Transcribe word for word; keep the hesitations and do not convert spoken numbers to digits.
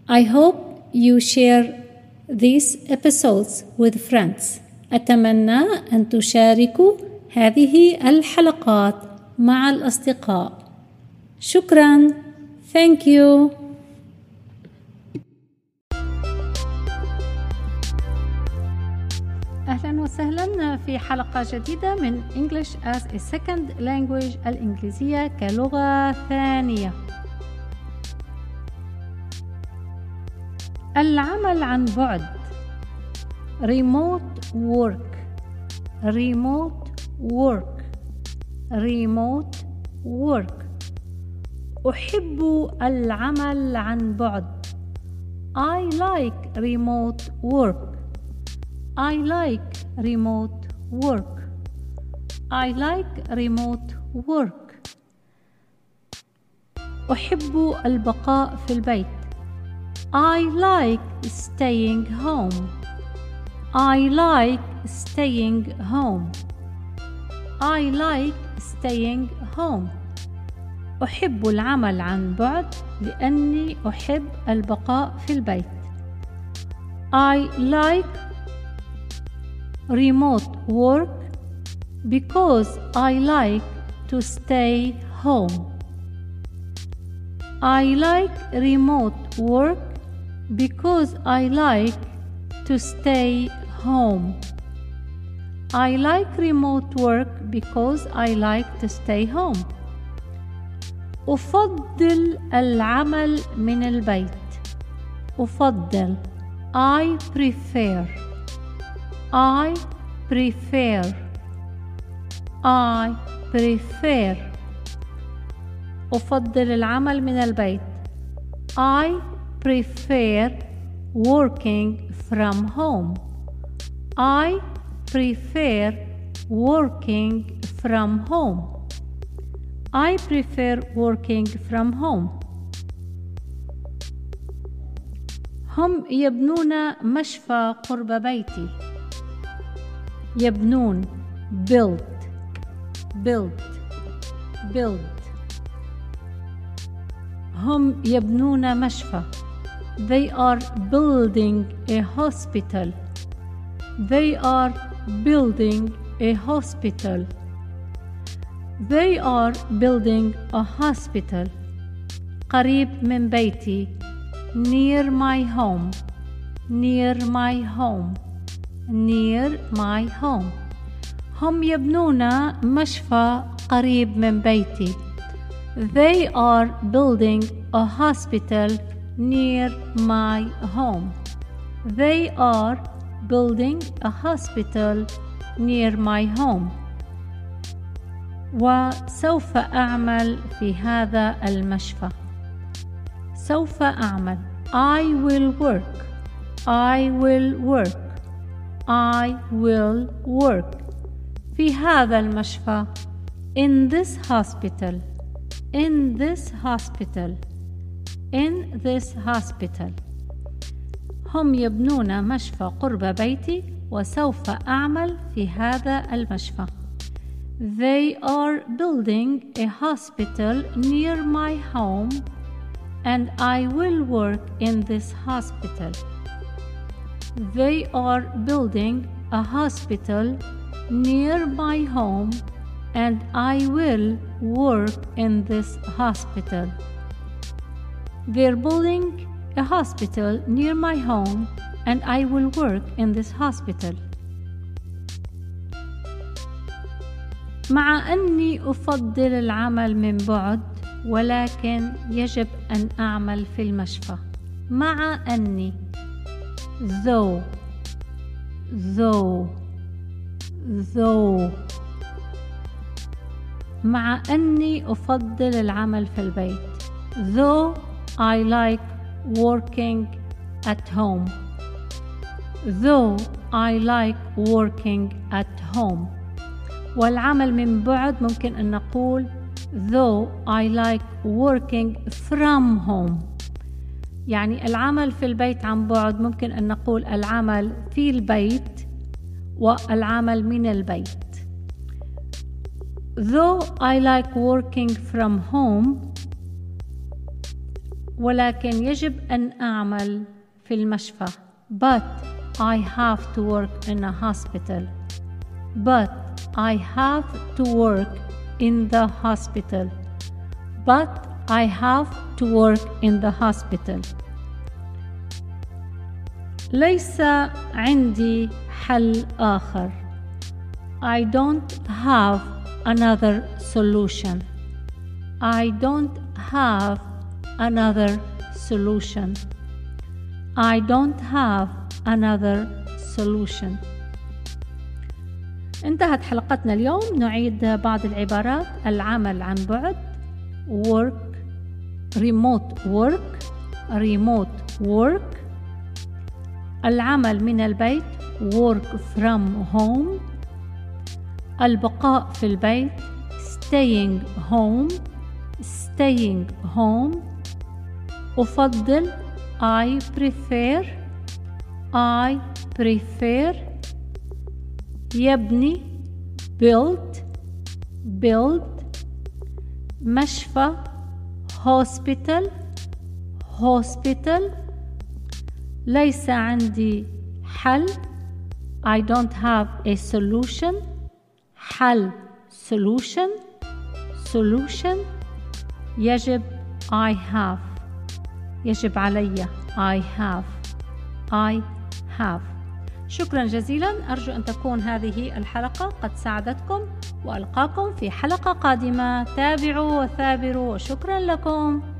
I hope you share these episodes with friends. أتمنى أن تشاركوا هذه الحلقات مع الأصدقاء. شكراً. Thank you. أهلاً وسهلاً في حلقة جديدة من English as a Second Language، الإنجليزية كلغة ثانية. العمل عن بعد remote work remote work remote work. أحب العمل عن بعد. I like remote work. I like remote work. I like remote work. أحب البقاء في البيت. I like staying home. I like staying home. I like staying home. أحب العمل عن بعد لأني أحب البقاء في البيت. I like remote work because I like to stay home. I like remote work because I like to stay home. I like remote work because I like to stay home. أفضل العمل من البيت. أفضل I prefer. I prefer. I prefer. أفضل العمل من البيت. I prefer working from home. I prefer working from home. I prefer working from home. هم يبنون مشفى قرب بيتي. يبنون build build build. هم يبنون مشفى. They are building a hospital. They are building a hospital. They are building a hospital. قريب من بيتي. Near my home. Near my home. Near my home. هم يبنون مشفى قريب من بيتي. They are building a hospital near my home. They are building a hospital near my home. وسوف أعمل في هذا المشفى. سوف أعمل. I will work. I will work. I will work. في هذا المشفى. In this hospital. In this hospital. In this hospital. هم يبنون مشفى قرب بيتي وسوف أعمل في هذا المشفى. They are building a hospital near my home and I will work in this hospital. They are building a hospital near my home and I will work in this hospital. They're building a hospital near my home and I will work in this hospital. مع أني أفضل العمل من بعد ولكن يجب أن أعمل في المشفى. مع أني though though though مع أني أفضل العمل في البيت. Though I like working at home. Though I like working at home. والعمل من بعد ممكن أن نقول though I like working from home. يعني العمل في البيت عن بعد ممكن أن نقول العمل في البيت والعمل من البيت. Though I like working from home ولكن يجب أن أعمل في المشفى. But I have to work in a hospital. But I have to work in the hospital. But I have to work in the hospital. ليس عندي حل آخر. I don't have another solution. I don't have another solution. I don't have another solution. انتهت حلقتنا اليوم. نعيد بعض العبارات. العمل عن بعد work, remote work, remote work. العمل من البيت work from home. البقاء في البيت staying home, staying home. أفضل I prefer, I prefer. يبني build, build. مشفى hospital, hospital. ليس عندي حل I don't have a solution. حل solution, solution. يجب I have, يجب علي I have, I have. شكرا جزيلا. أرجو أن تكون هذه الحلقة قد ساعدتكم، وألقاكم في حلقة قادمة. تابعوا وثابروا، وشكرا لكم.